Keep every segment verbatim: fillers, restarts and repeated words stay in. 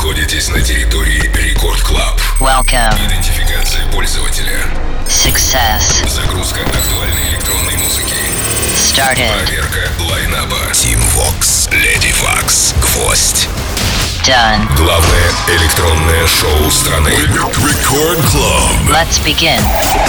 находитесь на территории Рекорд Клаб. Welcome. Идентификация пользователя. Success. Загрузка актуальной электронной музыки. Started. Проверка лайнаба. Team Vox, Lady Vox, Гвоздь. Done. Главное электронное шоу страны. Рекорд Клаб. Let's begin.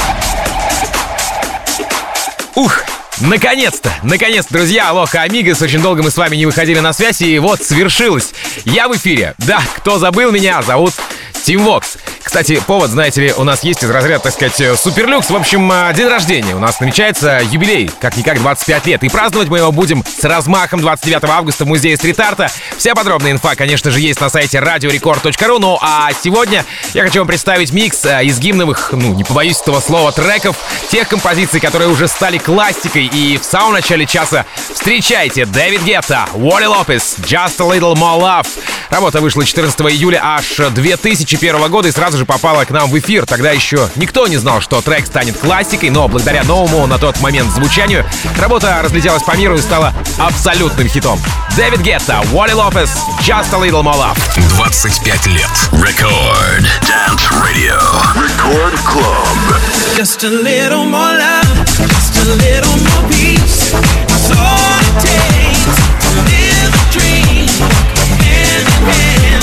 Ух! Наконец-то! Наконец-то, друзья! Алоха, амигос! Очень долго мы с вами не выходили на связь, и вот свершилось! Я в эфире! Да, кто забыл меня, зовут Team Vox. Кстати, повод, знаете ли, у нас есть из разряда, так сказать, суперлюкс. В общем, день рождения. У нас намечается юбилей, как-никак двадцать пять лет. И праздновать мы его будем с размахом двадцать девятого августа в музее стрит-арта. Вся подробная инфа, конечно же, есть на сайте радио рекорд точка ру. Ну а сегодня я хочу вам представить микс из гимновых, ну, не побоюсь этого слова, треков, тех композиций, которые уже стали классикой. И в самом начале часа встречайте Дэвид Гетта, Уолли Лопес, Just a Little More Love. Работа вышла четырнадцатого июля аж две тысячи первого года и сразу же попала к нам в эфир. Тогда еще никто не знал, что трек станет классикой, но благодаря новому на тот момент звучанию работа разлетелась по миру и стала абсолютным хитом. Дэвид Гетта, Уолли Лопес, Just a Little More Love. двадцать пять лет. Record Dance Radio. Record Club. Just a little more love, just a little more peace. That's all it takes to live a dream. Hand in hand,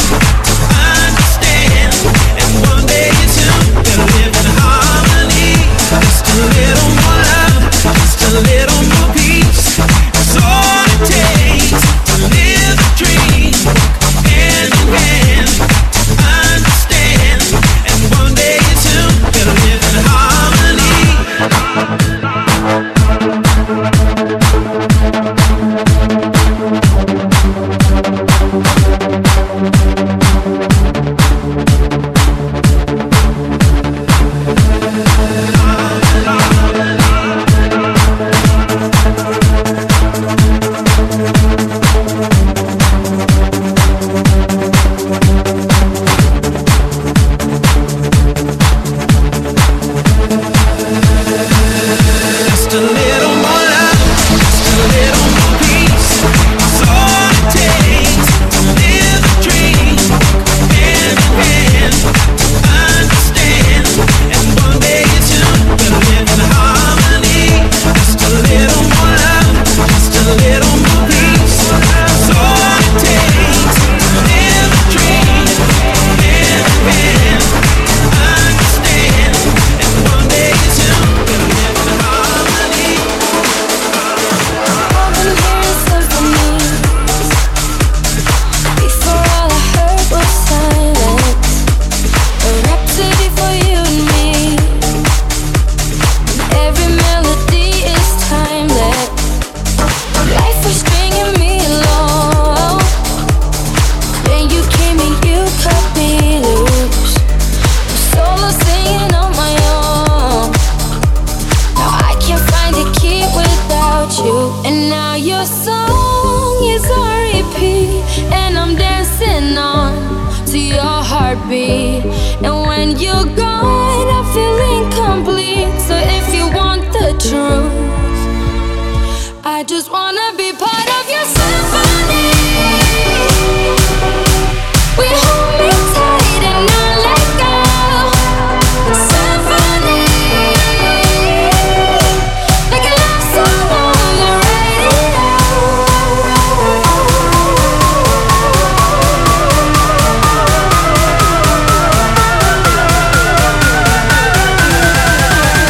understand. And one day you two will live in harmony. Just a little more love, just a little more peace. That's all it takes to live a dream. Hand in hand, understand. And one day you two will live in harmony.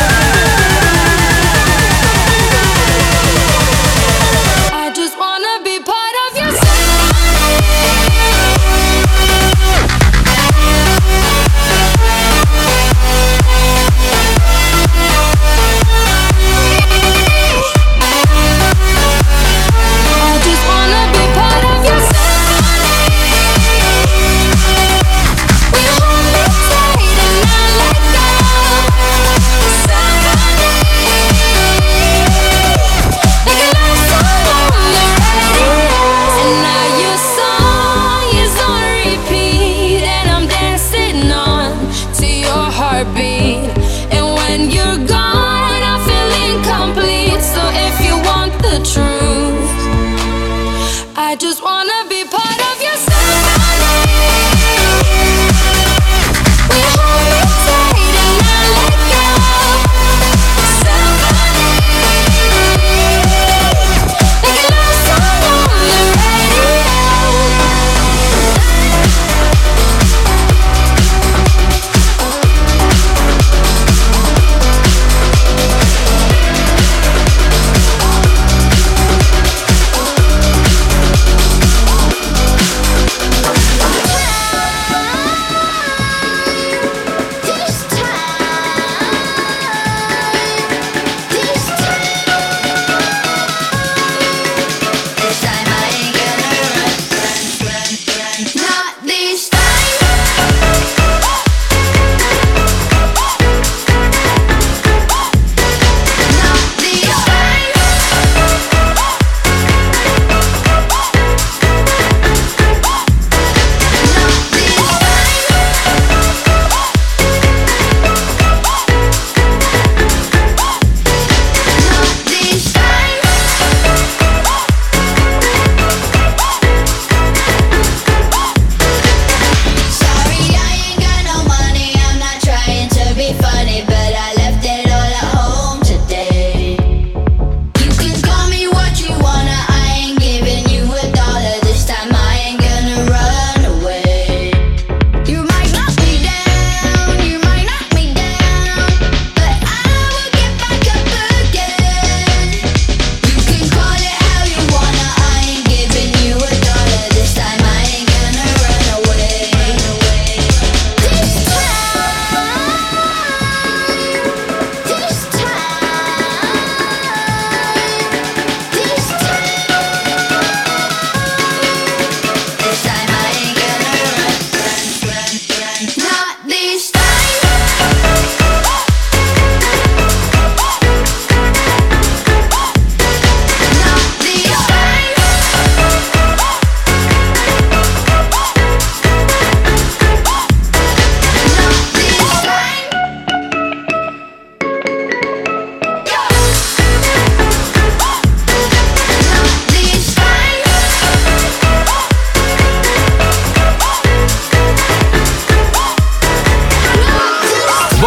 Wanna be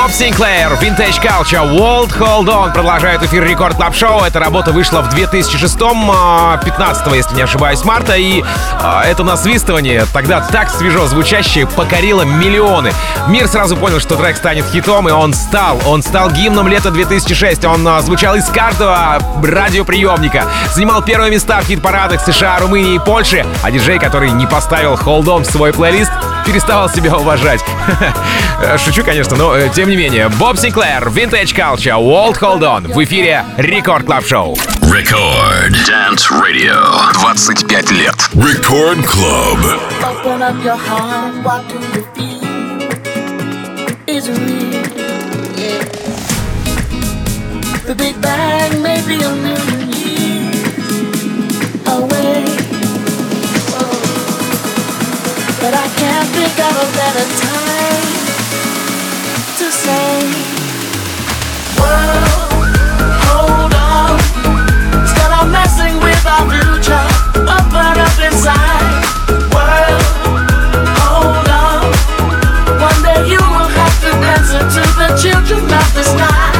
Боб Синклер, Vintage Culture, World Hold On продолжает эфир Рекорд Клаб Шоу. Эта работа вышла в две тысячи шестом, пятнадцатого, если не ошибаюсь, марта. И а, это насвистывание, тогда так свежо звучащее, покорило миллионы. Мир сразу понял, что трек станет хитом, и он стал. Он стал гимном лета две тысячи шестого. Он а, звучал из каждого радиоприемника. Занимал первые места в хит-парадах США, Румынии и Польши. А диджей, который не поставил Hold On в свой плейлист, переставал себя уважать. Шучу, конечно, но тем не менее. Боб Синклер, Vintage Culture, World Hold On. В эфире Рекорд Клаб Шоу. Record Dance Radio. двадцать пять лет. Record Club. Open up your heart, what do you feel? Is it real? Yeah. The Big Bang may be a million years away. But I can't think of a better time to say, world, hold on. Instead of messing with our future, open up inside. World, hold on. One day you will have to answer to the children of the sky.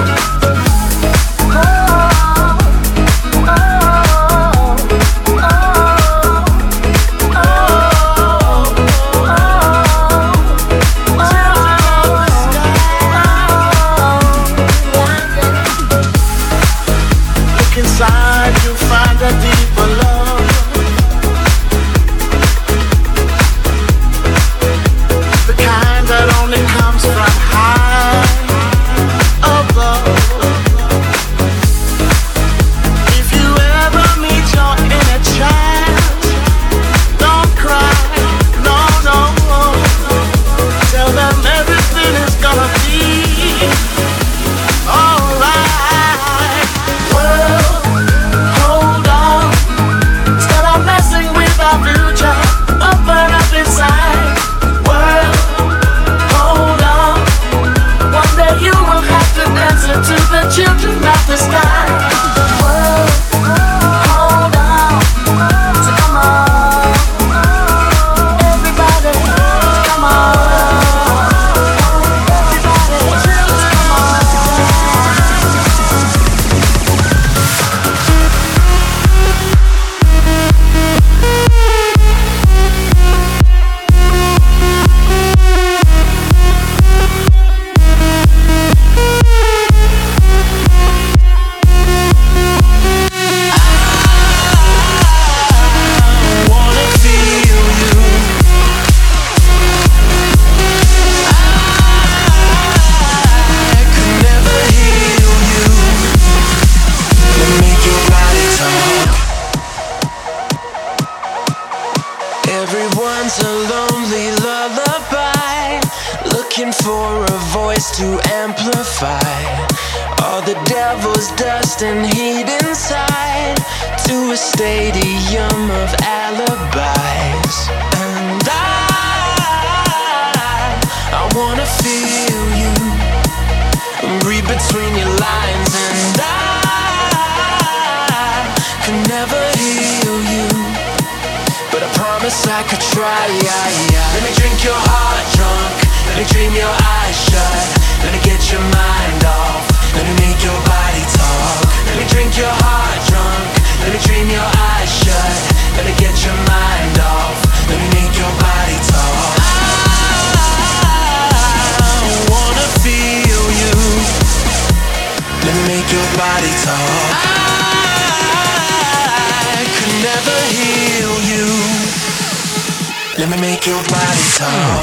Let me make your body talk.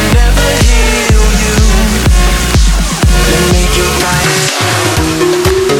Make your body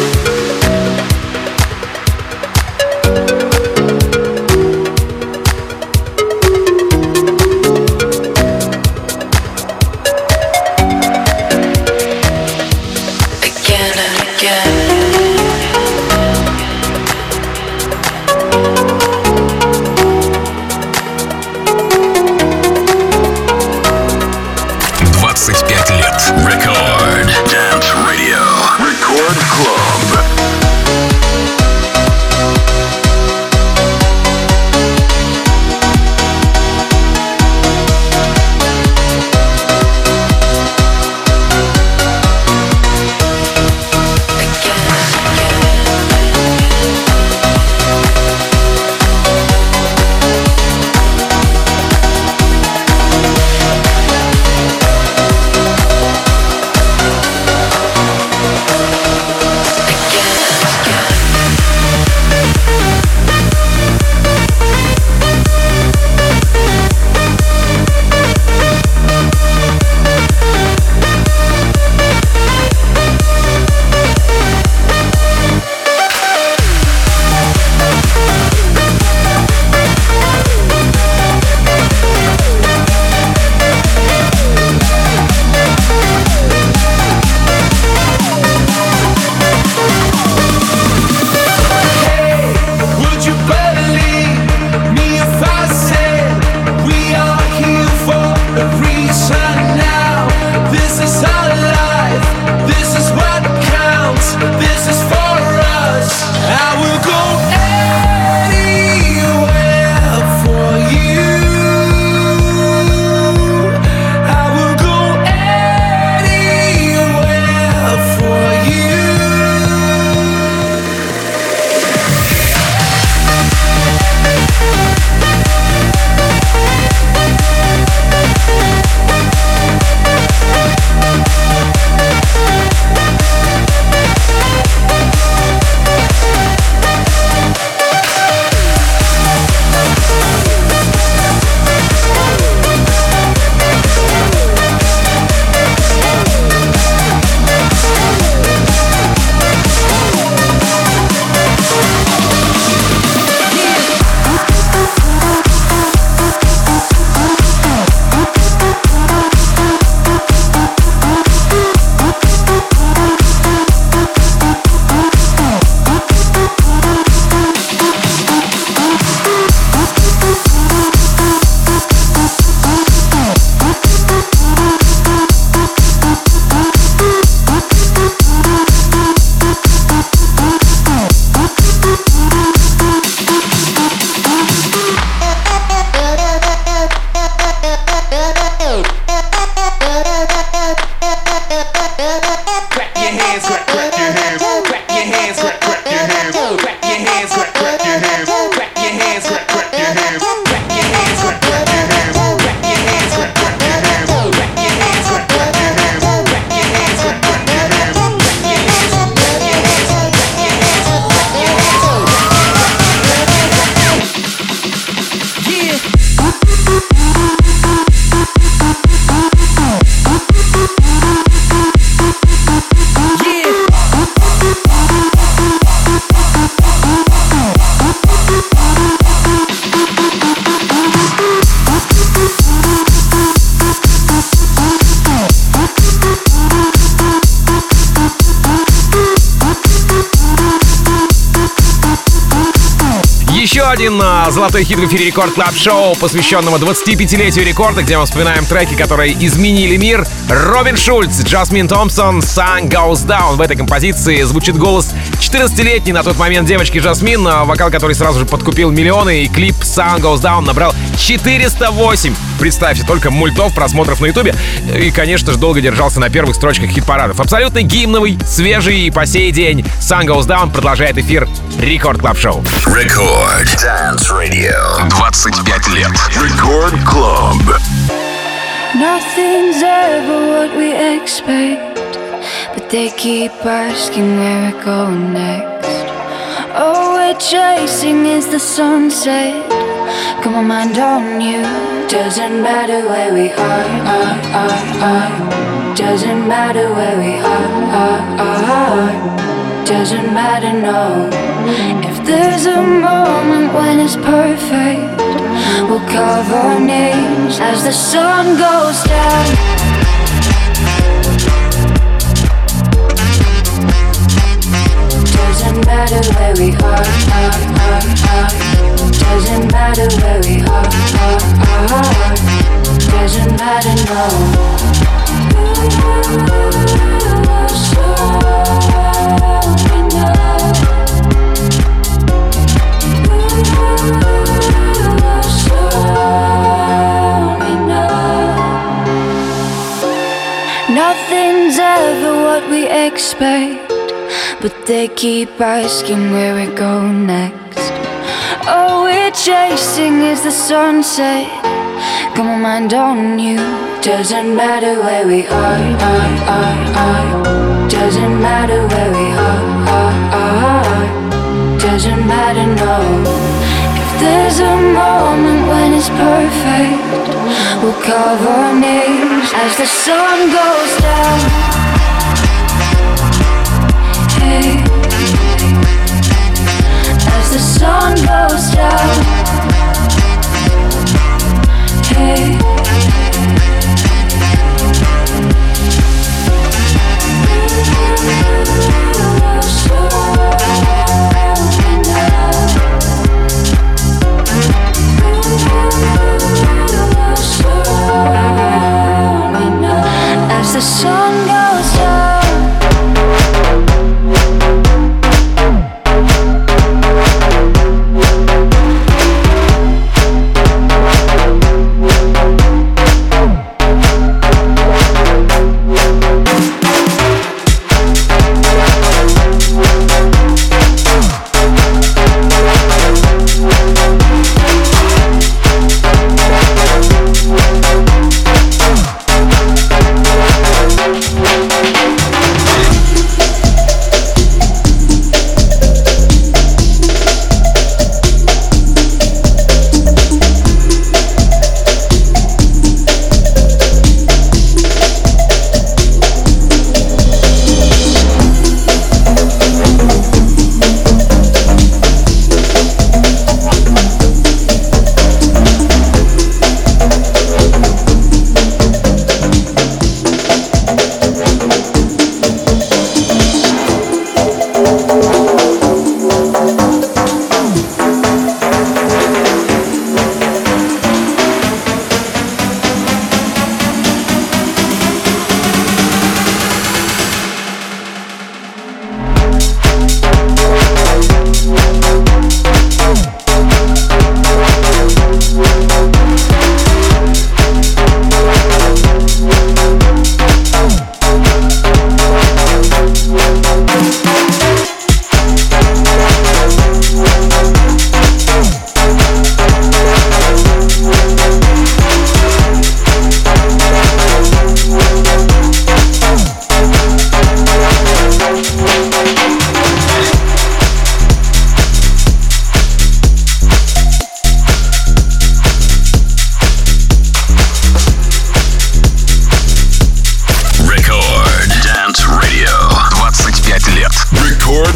Clap your hands, clap, clap your hands, clap your hands, clap, clap your hands, clap your hands, clap, clap your hands, clap your hands, clap, clap your hands, clap your hands, clap, clap your hands, clap your hands, clap, clap your hands, clap your hands, clap, clap your hands, clap your hands, clap, clap your hands, clap your hands, clap your hands, clap your hands, clap your hands. Yeah. Еще один а, золотой хит в эфире Рекорд Клаб Шоу, посвященного двадцатипятилетию рекорда, где мы вспоминаем треки, которые изменили мир. Робин Шульц, Джасмин Томпсон, Sun Goes Down. В этой композиции звучит голос четырнадцатилетней на тот момент девочки Жасмин, вокал который сразу же подкупил миллионы, и клип Sun Goes Down набрал четыреста восемь. Представьте, только мультов, просмотров на ютубе. И, конечно же, долго держался на первых строчках хит-парадов. Абсолютно гимновый, свежий и по сей день. Sun Goes Down продолжает эфир Рекорд Клаб Шоу. Record Dance Radio. двадцать пять лет. Record Club. Nothing's ever what we expect, but they keep asking where we're going next. All we're chasing is the sunset. Got my mind on you. Doesn't matter where we are, are, are, are. Doesn't matter where we are, are, are. Doesn't matter, no. If there's a moment when it's perfect, we'll carve our names as the sun goes down. Doesn't matter where we are, are, are, are. Doesn't matter where we are, are, are. Doesn't matter, no. So enough. Nothing's ever what we expect, but they keep asking where we're going next. All we're chasing is the sunset. Got my mind on you. Doesn't matter where we are, are, are, are. Doesn't matter where we are, are, are. Doesn't matter, no. If there's a moment when it's perfect, we'll carve our names as the sun goes down. Hey, as the sun goes down. Hey, as the sun goes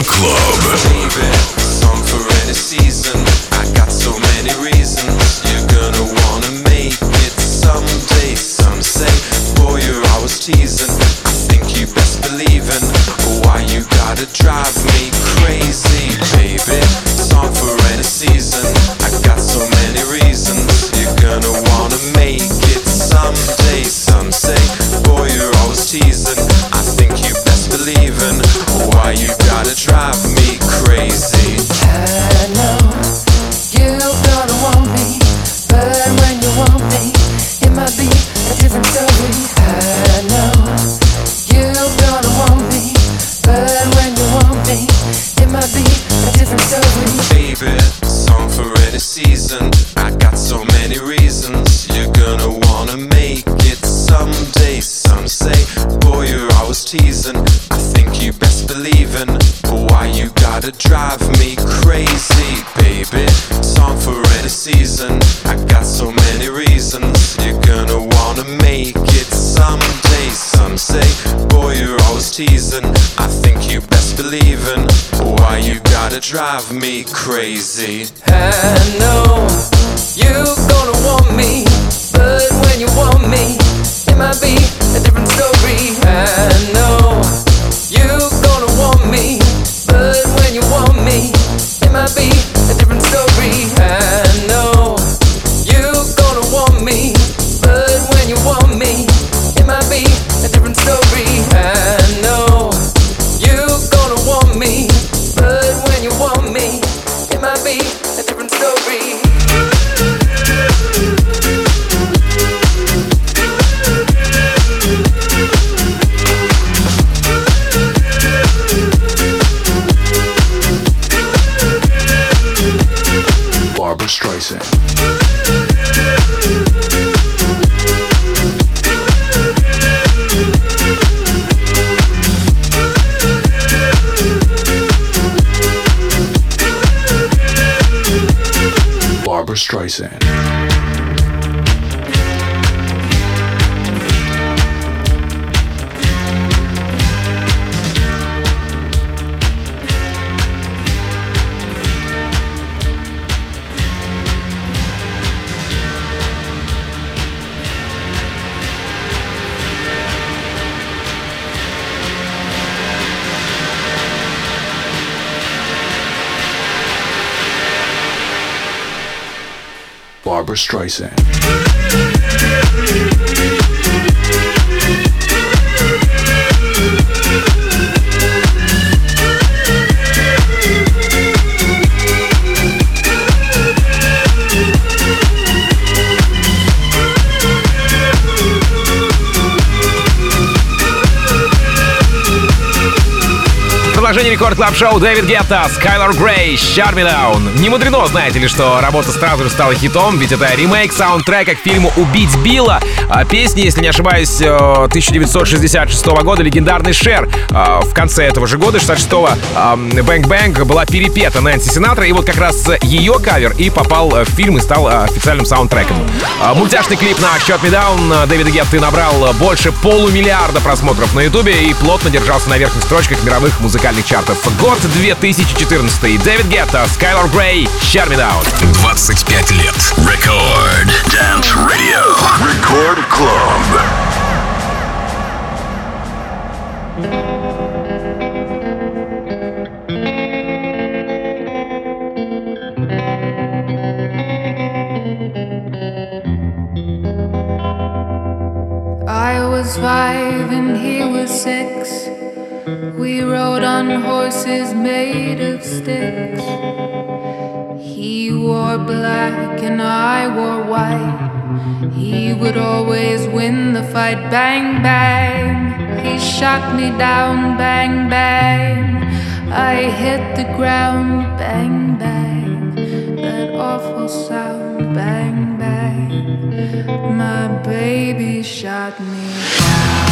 Club. Baby, song for any season. I got so many reasons. You're gonna wanna make it someday. Some say, boy, you're always teasing. I think you best believe in. Why you gotta drive me crazy, baby? Song for any season. I got so many reasons. You're gonna wanna make it someday. Some say, boy, you're always teasing. I think you best believe in. Why you gotta drive me crazy? I know you're gonna want me, but when you want me, it might be a different story. I know you're gonna want me, but when you want me, it might be a different story. Baby, song for any season. I got so many reasons. You're gonna wanna make it someday. Some say, boy, you're always teasing. I think you best believe in. Why you gotta drive me crazy, baby? Song for any season. I got so many reasons. You're gonna wanna make it someday. Some say, boy, you're always teasing. I think you best believe in. Why you gotta drive me crazy? I know you're gonna want me, but when you want me, it might be a different story. I know you're gonna want me, but when you want me, it might be a different story. I know you're gonna want me, but when you want me, it might be a different story. I know you're gonna want me, but when you want me, it might be a different story. Barbra Streisand. Barbra Streisand. Barbra Streisand. Продолжение Рекорд Клаб Шоу. Дэвид Гетта, Скайлар Грей, Shut Me Down. Не мудрено, знаете ли, что работа сразу же стала хитом, ведь это ремейк саундтрека к фильму «Убить Билла». Песни, если не ошибаюсь, тысяча девятьсот шестьдесят шестого года, легендарный Шер. В конце этого же года, шестьдесят шестого, «Бэнг Бэнг» была перепета Нэнси Синатра, и вот как раз ее кавер и попал в фильм и стал официальным саундтреком. Мультяшный клип на Shut Me Down Дэвида Гетты набрал больше полумиллиарда просмотров на ютубе и плотно держался на верхних строчках мировых музыкальных чартов. Год две тысячи четырнадцатый. Дэвид Гетта, Скайлар Грей, Shut Me Down. двадцать пять лет. Record Dance Radio. Record Club. I was five and he was six. We rode on horses made of sticks. He wore black and I wore white. He would always win the fight. Bang, bang. He shot me down. Bang, bang. I hit the ground. Bang, bang. That awful sound. Bang, bang. My baby shot me down.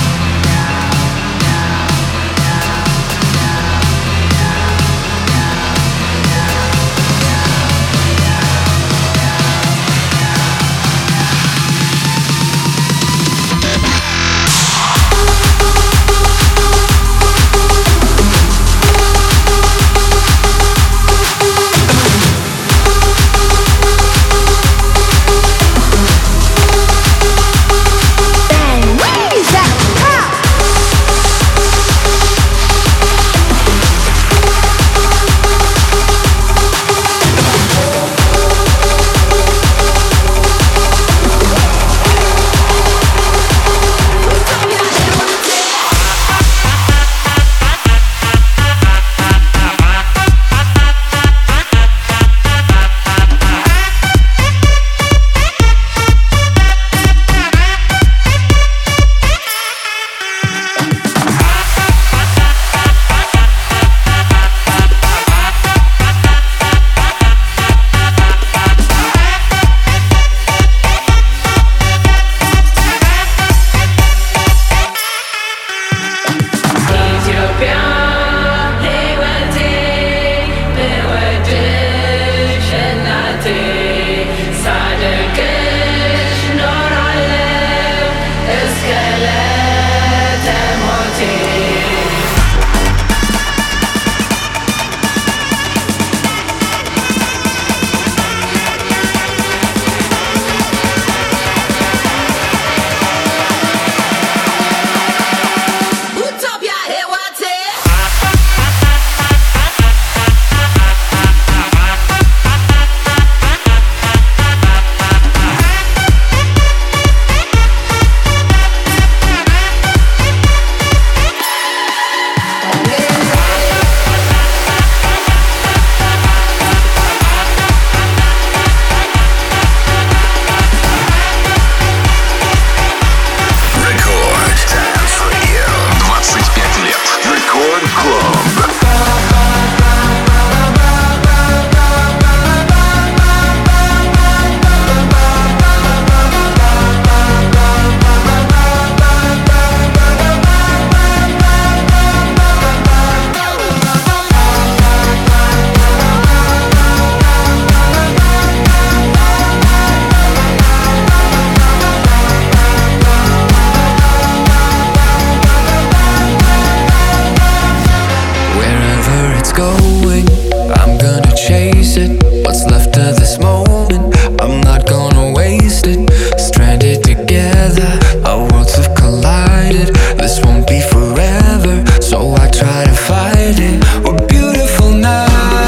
going, I'm gonna chase it. What's left of this moment, I'm not gonna waste it. Stranded together, our worlds have collided. This won't be forever, so I try to fight it. We're beautiful now.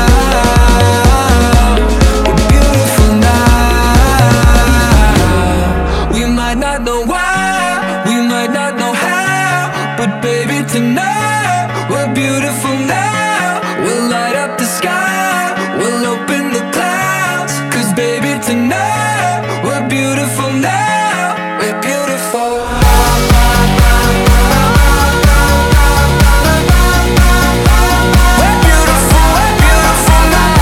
We're beautiful now. We might not know why, we might not know how, but baby tonight we're beautiful now. We'll light up the sky, we'll open the clouds. Cause baby tonight we're beautiful now. We're beautiful. We're beautiful, we're beautiful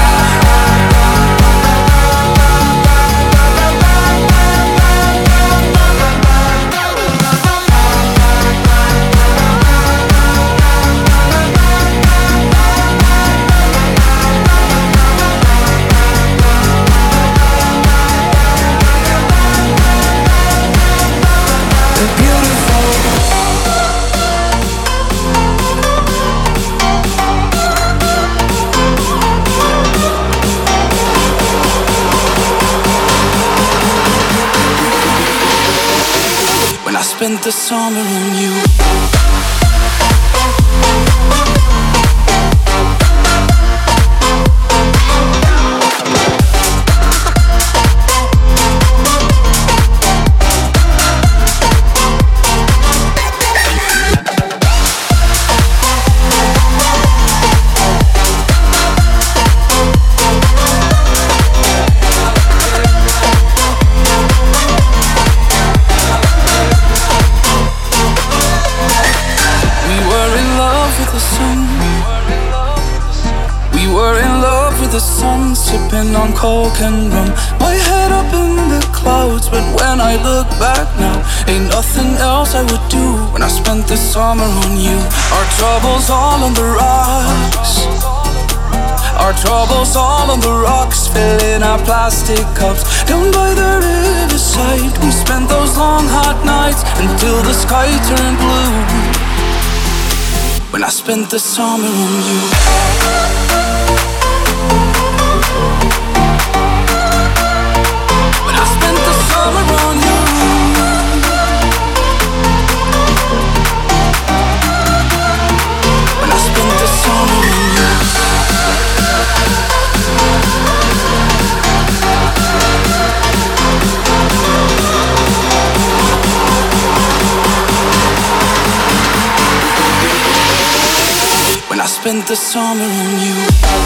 when I spent the summer on you. We were in love with the sun. We were in love with the sun, sipping on coke and rum. My head up in the clouds, but when I look back now, ain't nothing else I would do when I spent the summer on you. Our troubles all on the rocks. Our troubles all on the rocks, filling our plastic cups. Down by the riverside, we spent those long hot nights until the sky turned blue. When I spent the summer on you. When I spent the summer on you. When I spent the summer on you. When I spent the summer on you.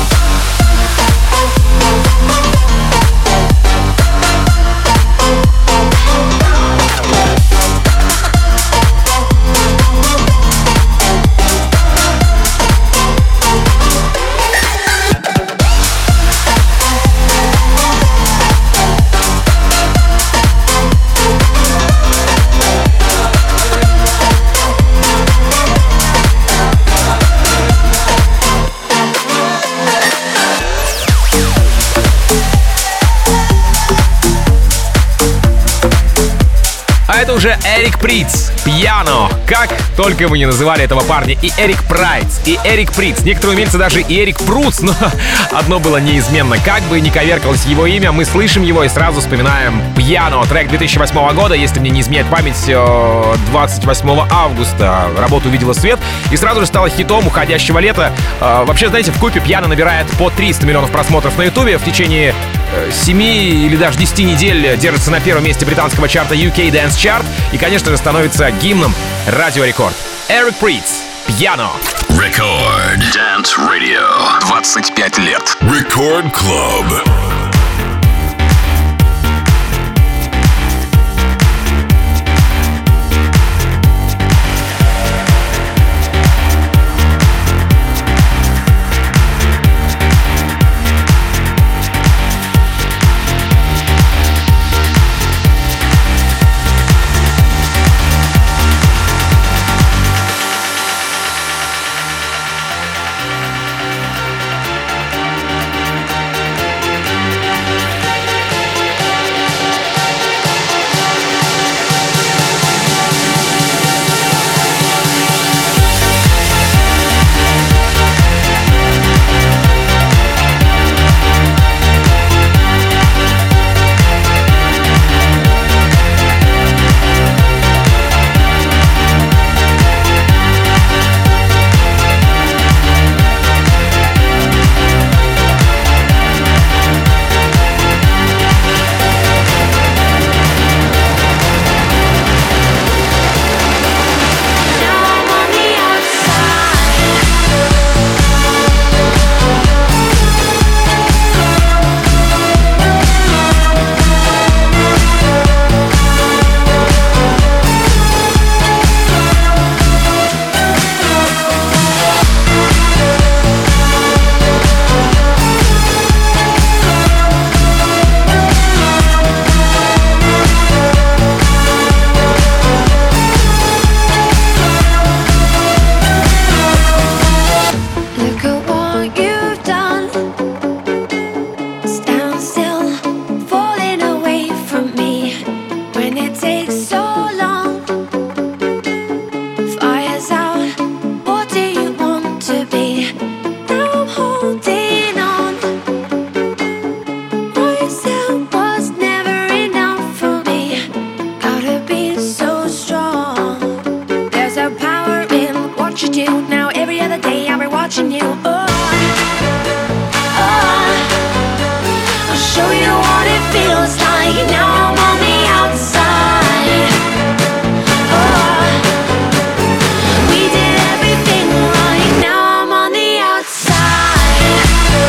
Это уже Эрик Притц, «Пьяно». Как только мы не называли этого парня и Эрик Прайц, и Эрик Притц. Некоторые умельцы даже и Эрик Пруц, но одно было неизменно. Как бы ни коверкалось его имя, мы слышим его и сразу вспоминаем «Пьяно». Трек две тысячи восьмого года, если мне не изменяет память, двадцать восьмого августа работа увидела свет и сразу же стала хитом уходящего лета. Вообще, знаете, вкупе «Пьяно» набирает по триста миллионов просмотров на Ютубе. В течение семи или даже десяти недель держится на первом месте британского чарта ю кей Dance Chart и, конечно же, становится гимном Радио Рекорд. Эрик Притц, «Пьяно». Record Dance Radio. двадцать пять лет. Record Club. to be. Now I'm holding on. What you said was never enough for me. Gotta be so strong. There's a power in what you do. Now every other day I'll be watching you. Oh, oh. I'll show you what it feels like. Now I'm on the outside. Oh, we did everything right. Now I'm on the outside.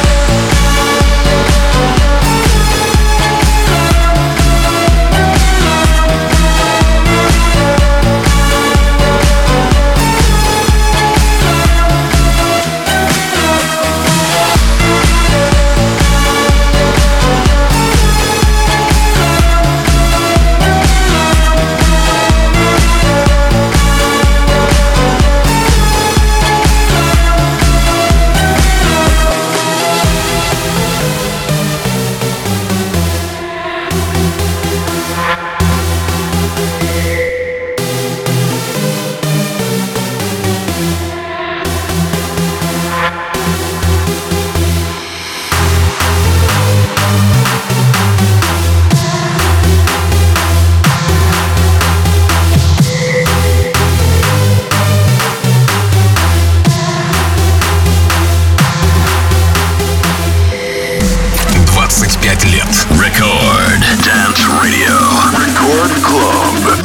двадцать пять лет. Record Dance Radio. Record Club.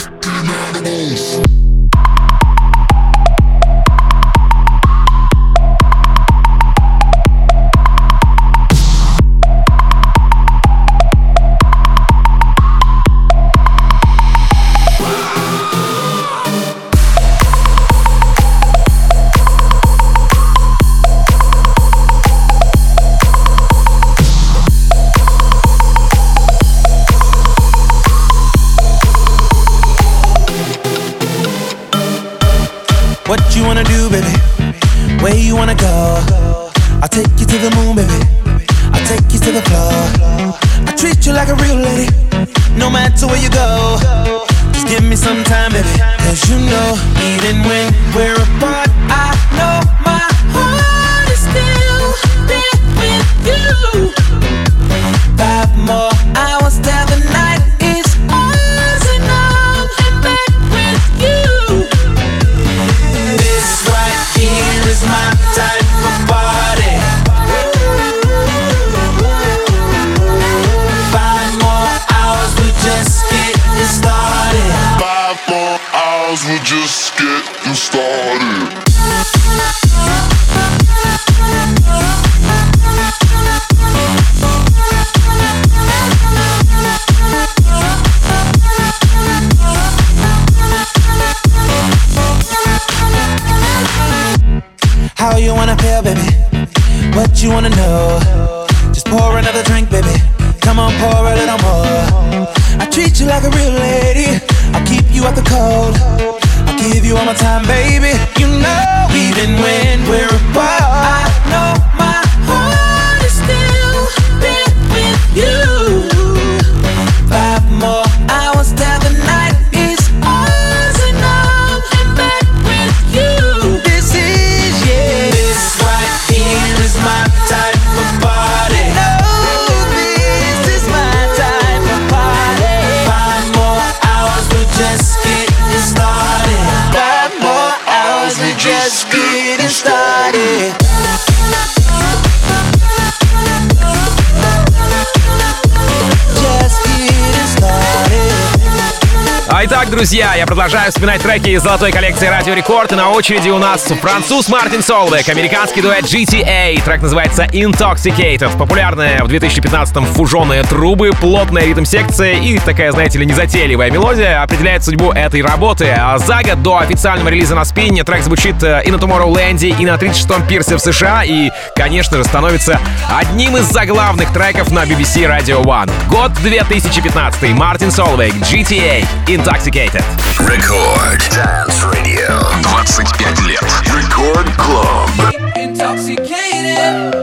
What you wanna do, baby? Where you wanna go? I'll take you to the moon, baby. I'll take you to the floor. I treat you like a real lady, no matter where you go. Just give me some time, baby. Cause you know, even when we're apart, I know my heart is still there with you. Five more hours till the night is ours, and I'm back with you. This right here is my type of party. Five more hours, we just getting started. Five more hours, we're just getting started. How you wanna feel, baby? What you wanna know? Just pour another drink, baby. Come on, pour a little more. I treat you like a real lady. I'll keep you out the cold. I'll give you all my time, baby. You know, even when we're apart, I know my heart is still there with you. Five more hours till the night is ours, and I'm back with you. This is, yeah, this right here is my type of party. No, this is my type of party. Five more hours, we're just getting started. Five more hours, we're just getting started. Just getting started. А итак, друзья, я продолжаю вспоминать треки из золотой коллекции Радио Рекорд. И на очереди у нас француз Мартин Солвейг, американский дуэт джи ти эй. Трек называется Intoxicated. Популярная в две тысячи пятнадцатом фуженые трубы, плотная ритм-секция и такая, знаете ли, незатейливая мелодия определяет судьбу этой работы. А за год до официального релиза на спине трек звучит и на Tomorrowland, и на тридцать шестом пирсе в США, и, конечно же, становится одним из заглавных треков на би би си Radio One. Год две тысячи пятнадцатый. Мартин Солвейг, джи ти эй, Intoxicated. Record Dance Radio. двадцать пять лет. Record Club. Intoxicated.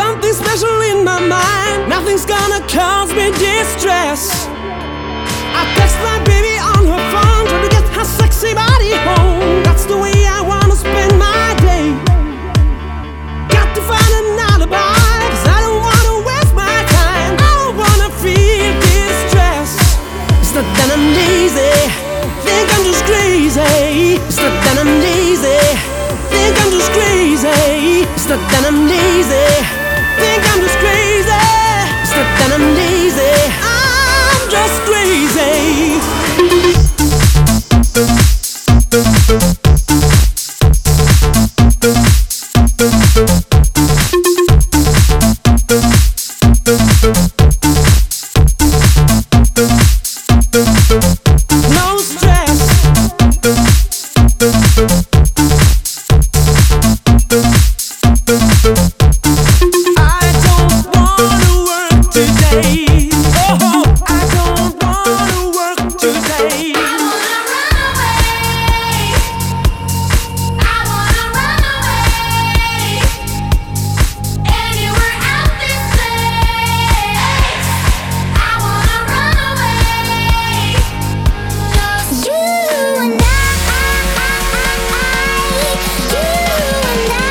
something special in my mind. Nothing's gonna cause me distress. I text my baby on her phone, trying to get her sexy body home. That's the way I wanna spend my day. Got to find an alibi, cause I don't wanna waste my time. I don't wanna feel distress. It's not that I'm lazy, think I'm just crazy. It's not that I'm lazy, think I'm just crazy. It's not that I'm lazy, think I'm just crazy. It's not that I'm lazy, I'm just crazy. No stress. I don't wanna work today. Oh, I don't wanna work today. I wanna run away. I wanna run away. Anywhere out this place. I wanna run away. Just you and I. You and I.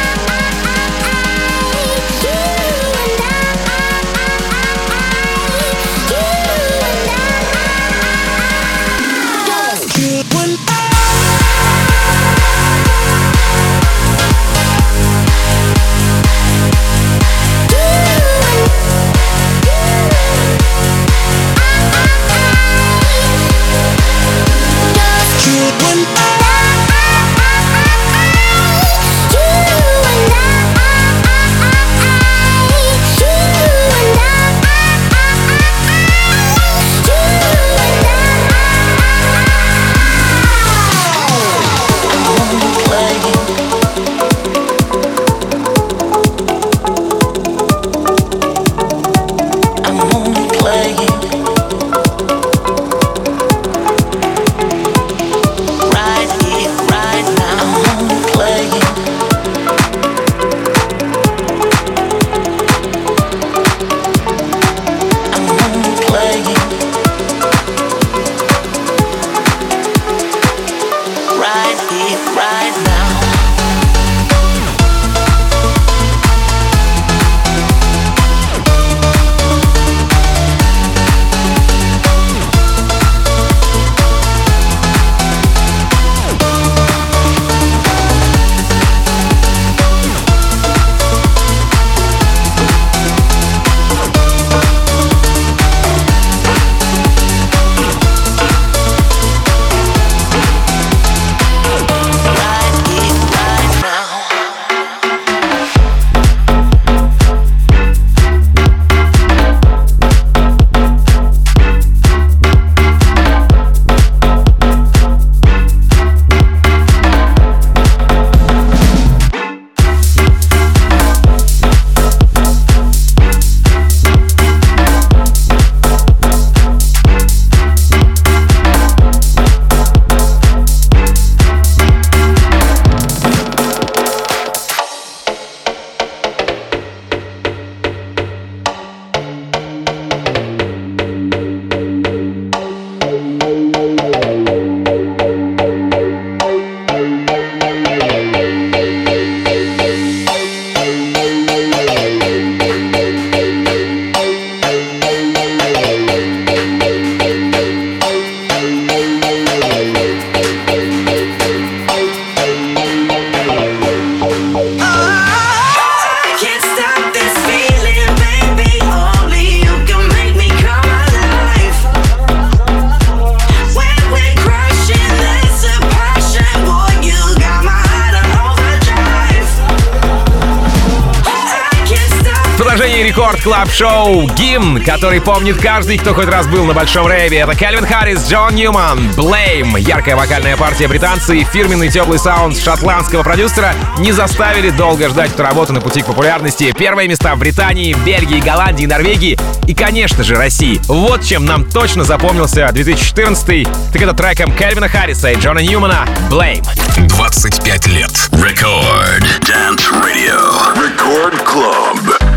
Рекорд Клаб Шоу гимн, который помнит каждый, кто хоть раз был на большом рейве. Это Кальвин Харрис, Джон Ньюман, Blame. Яркая вокальная партия британца и фирменный теплый саунд шотландского продюсера не заставили долго ждать эту работу на пути к популярности. Первые места в Британии, Бельгии, Голландии, Норвегии и, конечно же, России. Вот чем нам точно запомнился две тысячи четырнадцатый. Так это треком Кальвина Харриса и Джона Ньюмана «Blame». двадцать пять лет. Record Dance Radio. Record Club.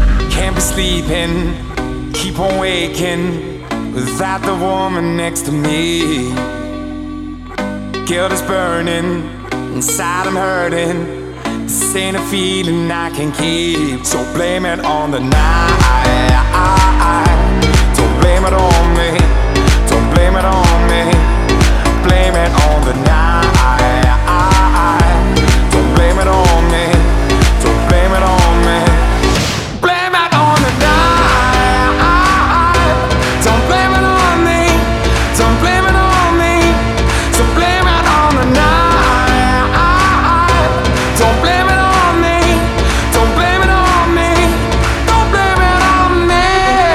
sleeping, keep on waking without the woman next to me. Guilt is burning, inside I'm hurting. This ain't a feeling I can keep. So blame it on the night. Don't blame it on me. Don't blame it on me. Blame it on the night. Don't blame it on me. Don't blame it on me. Blame it on the night. Don't blame it on me. Don't blame it on me. So blame it on the night. Don't blame it on me. Don't blame it on me. Don't blame it on me.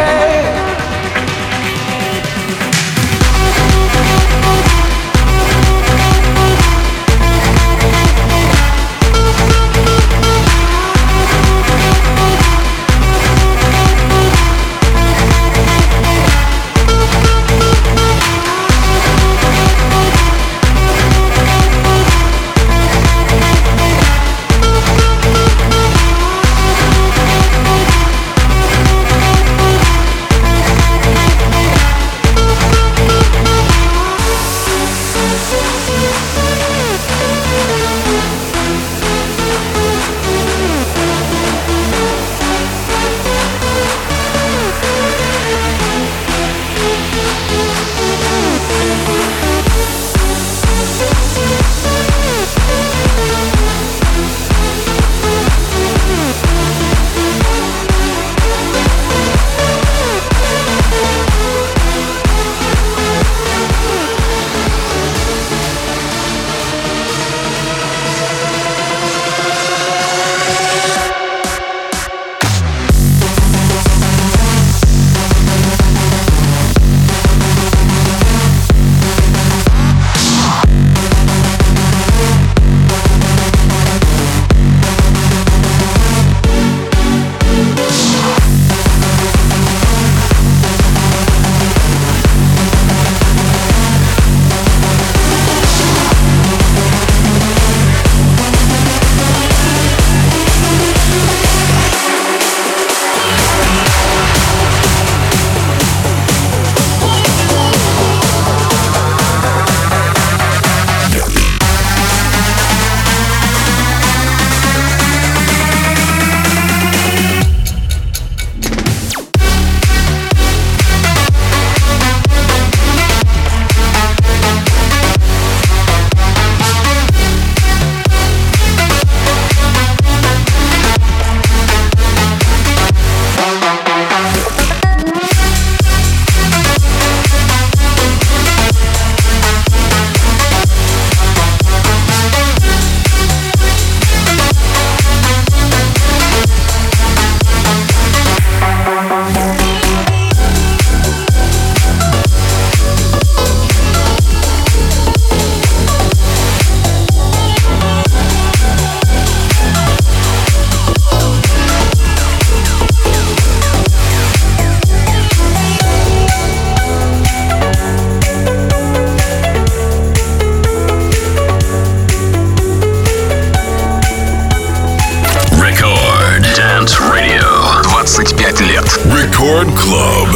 Record Club.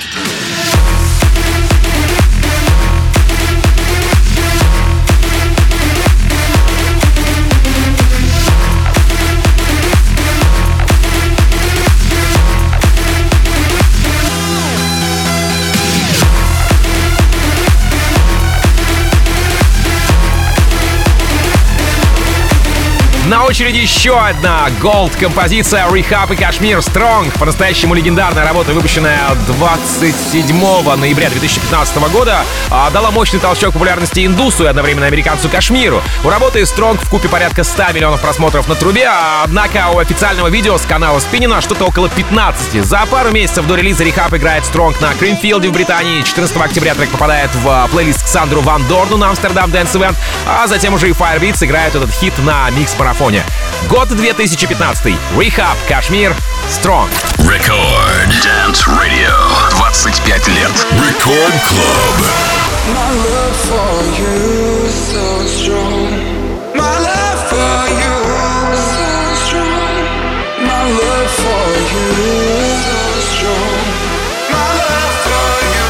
На очереди еще одна голд-композиция Rehab и Kashmir Strong. По-настоящему легендарная работа, выпущенная двадцать седьмого ноября две тысячи пятнадцатого года, дала мощный толчок популярности индусу и одновременно американцу Кашмиру. У работы Strong вкупе порядка ста миллионов просмотров на трубе, однако у официального видео с канала Спиннина что-то около пятнадцати. За пару месяцев до релиза Rehab играет Strong на Creamfield в Британии. четырнадцатого октября трек попадает в плейлист к Сандру Ван Дорну на Amsterdam Dance Event, а затем уже и Firebeats играют этот хит на микс-марафоне. Год две тысячи пятнадцатый. Rehab, Kashmir, Strong. Record Dance Radio. двадцать пять лет. Record Club. My love for you is so strong. My love for you is so strong. My love for you is so strong. My love for you.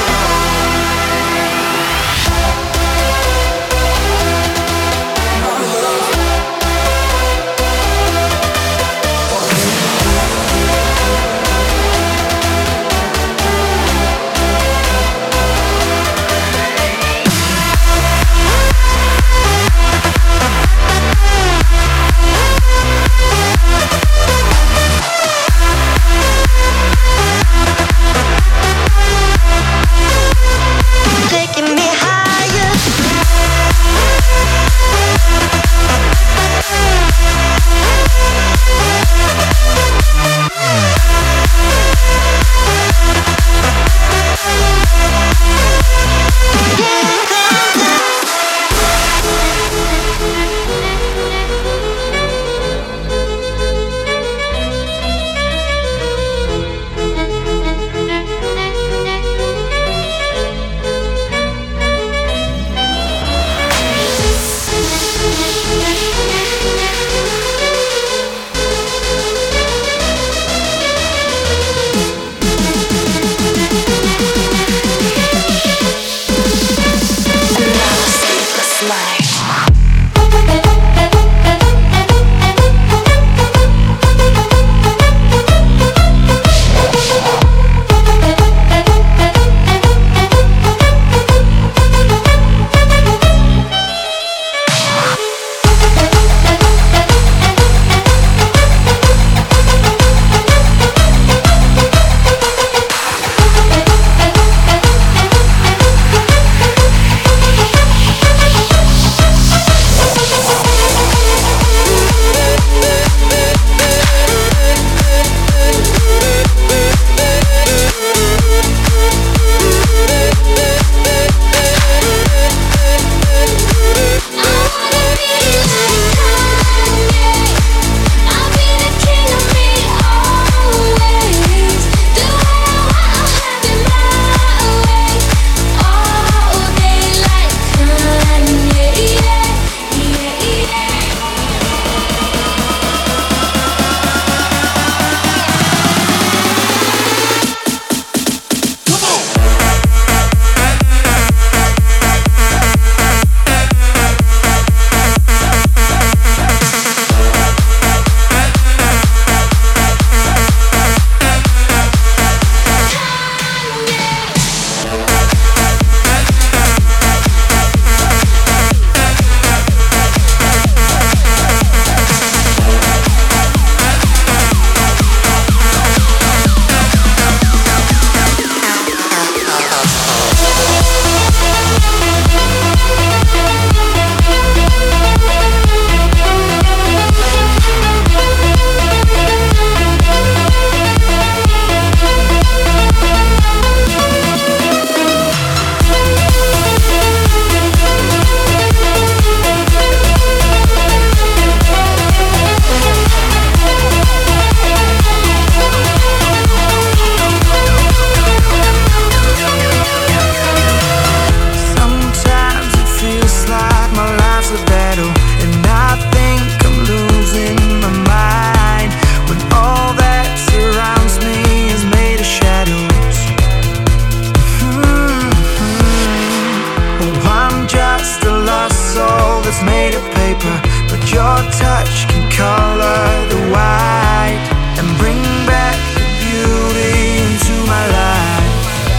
Your touch can color the white and bring back the beauty into my life.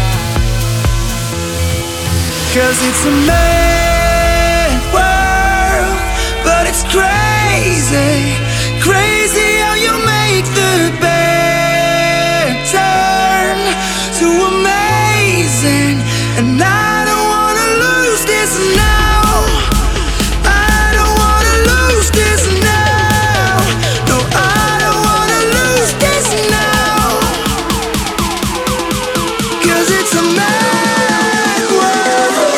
'Cause it's a mad world, but it's crazy, crazy how you make the bad turn to amazing. And I don't wanna lose this now. I don't wanna lose this now. No, I don't wanna lose this now. 'Cause it's a mad world.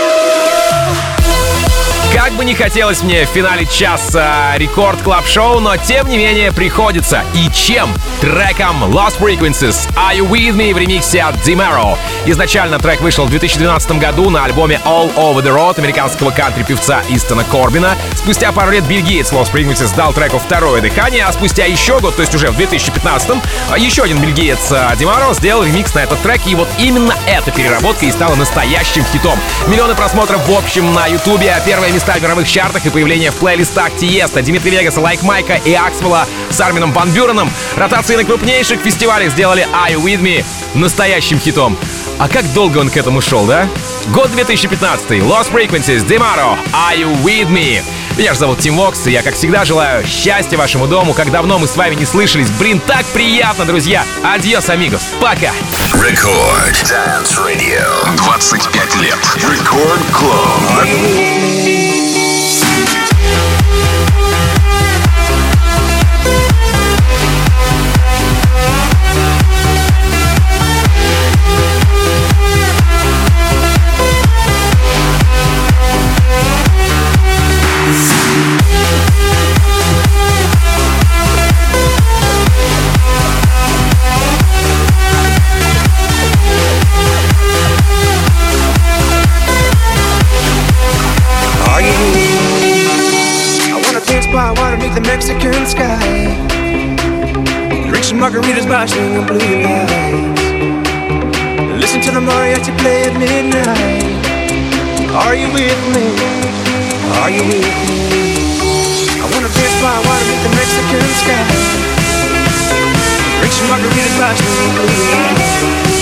Как бы не хотелось мне в финале часа Рекорд Клаб Шоу, но тем не менее приходится. И чем? Треком Lost Frequencies Are You With Me в ремиксе от Dimero. Изначально трек вышел в две тысячи двенадцатом году на альбоме All Over The Road американского кантри-певца Истона Корбина. Спустя пару лет бельгиец Lost Frequencies дал треку второе дыхание, а спустя еще год, то есть уже в две тысячи пятнадцатом, еще один бельгиец Dimero сделал ремикс на этот трек, и вот именно эта переработка и стала настоящим хитом. Миллионы просмотров в общем на Ютубе, первые места в мировых чартах и появление в плейлистах Тиеста, Димитри Вегаса, Лайк Майка и Аксвелла с Армином Ван Бюреном. Ротации на крупнейших фестивалях сделали Are You With Me настоящим хитом. А как долго он к этому шел, да? Год две тысячи пятнадцатый. Lost Frequencies, Dimero, Are You With Me? Меня же зовут Тим Вокс, и я, как всегда, желаю счастья вашему дому. Как давно мы с вами не слышались. Блин, так приятно, друзья. Адьос, амигос. Пока. Record Dance Radio. двадцать пять лет. Record Club. The Mexican sky, drink some margaritas by swinging blue lights, listen to the mariachi play at midnight. Are you with me? Are you with me? I wanna dance by water beneath the Mexican sky, drink some margaritas by swinging blue lights.